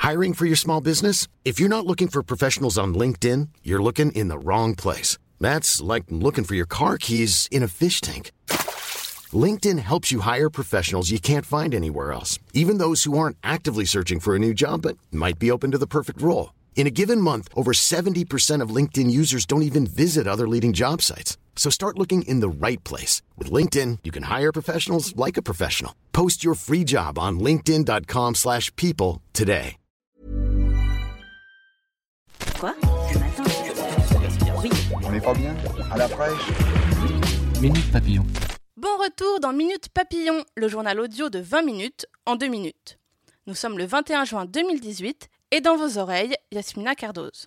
Hiring for your small business? If you're not looking for professionals on LinkedIn, you're looking in the wrong place. That's like looking for your car keys in a fish tank. LinkedIn helps you hire professionals you can't find anywhere else, even those who aren't actively searching for a new job but might be open to the perfect role. In a given month, over 70% of LinkedIn users don't even visit other leading job sites. So start looking in the right place. With LinkedIn, you can hire professionals like a professional. Post your free job on linkedin.com/people today. Quoi? Ce matin? Oui. On n'est pas bien? À la fraîche? Minute Papillon. Bon retour dans Minute Papillon, le journal audio de 20 minutes en 2 minutes. Nous sommes le 21 juin 2018 et dans vos oreilles, Yasmina Cardoz.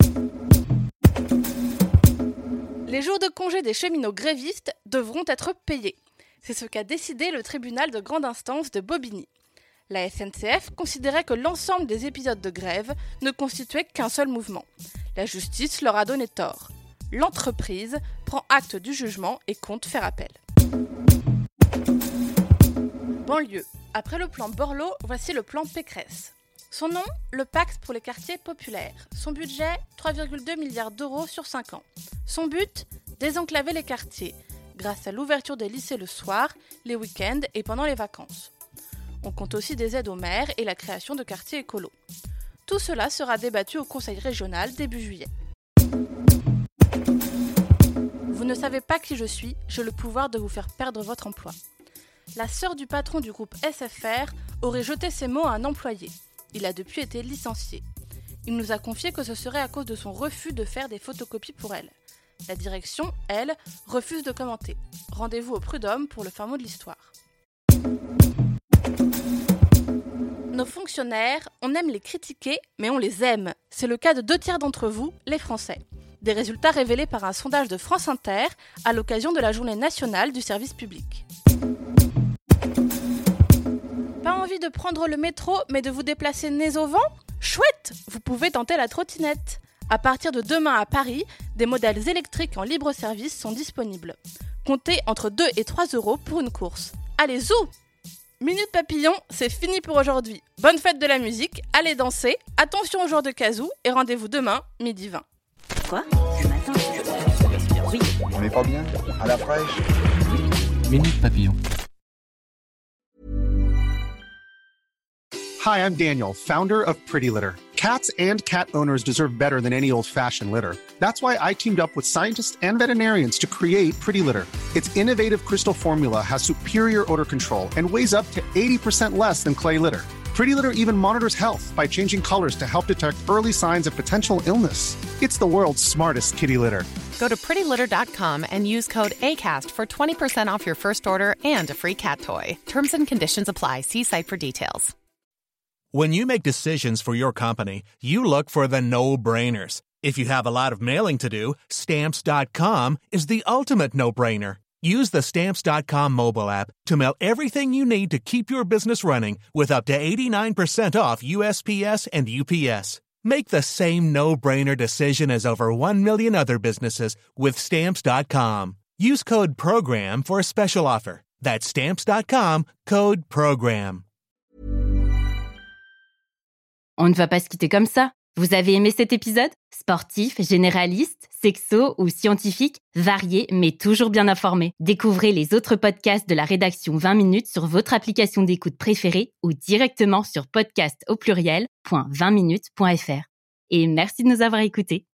Les jours de congé des cheminots grévistes devront être payés. C'est ce qu'a décidé le tribunal de grande instance de Bobigny. La SNCF considérait que l'ensemble des épisodes de grève ne constituaient qu'un seul mouvement. La justice leur a donné tort. L'entreprise prend acte du jugement et compte faire appel. Banlieue. Après le plan Borloo, voici le plan Pécresse. Son nom, le Pacte pour les quartiers populaires. Son budget, 3,2 milliards d'euros sur 5 ans. Son but, désenclaver les quartiers, grâce à l'ouverture des lycées le soir, les week-ends et pendant les vacances. On compte aussi des aides aux maires et la création de quartiers écolos. Tout cela sera débattu au Conseil régional début juillet. Vous ne savez pas qui je suis, j'ai le pouvoir de vous faire perdre votre emploi. La sœur du patron du groupe SFR aurait jeté ces mots à un employé. Il a depuis été licencié. Il nous a confié que ce serait à cause de son refus de faire des photocopies pour elle. La direction, elle, refuse de commenter. Rendez-vous au prud'homme pour le fin mot de l'histoire. Nos fonctionnaires, on aime les critiquer, mais on les aime. C'est le cas de 2/3 d'entre vous, les Français. Des résultats révélés par un sondage de France Inter à l'occasion de la Journée nationale du service public. Pas envie de prendre le métro, mais de vous déplacer nez au vent ? Chouette ! Vous pouvez tenter la trottinette. À partir de demain à Paris, des modèles électriques en libre service sont disponibles. Comptez entre 2 et 3 euros pour une course. Allez, zou ! Minute Papillon, c'est fini pour aujourd'hui. Bonne fête de la musique, allez danser, attention aux joueurs de kazoo et rendez-vous demain, 12h20. Quoi? Ce matin? Oui. On n'est pas bien? À la fraîche? Minute Papillon. Hi, I'm Daniel, founder of Pretty Litter. Cats and cat owners deserve better than any old-fashioned litter. That's why I teamed up with scientists and veterinarians to create Pretty Litter. Its innovative crystal formula has superior odor control and weighs up to 80% less than clay litter. Pretty Litter even monitors health by changing colors to help detect early signs of potential illness. It's the world's smartest kitty litter. Go to prettylitter.com and use code ACAST for 20% off your first order and a free cat toy. Terms and conditions apply. See site for details. When you make decisions for your company, you look for the no-brainers. If you have a lot of mailing to do, Stamps.com is the ultimate no-brainer. Use the Stamps.com mobile app to mail everything you need to keep your business running with up to 89% off USPS and UPS. Make the same no-brainer decision as over 1 million other businesses with Stamps.com. Use code PROGRAM for a special offer. That's Stamps.com, code PROGRAM. On ne va pas se quitter comme ça. Vous avez aimé cet épisode ? Sportif, généraliste, sexo ou scientifique, varié mais toujours bien informé. Découvrez les autres podcasts de la rédaction 20 minutes sur votre application d'écoute préférée ou directement sur podcast au pluriel.20minutes.fr. Et merci de nous avoir écoutés.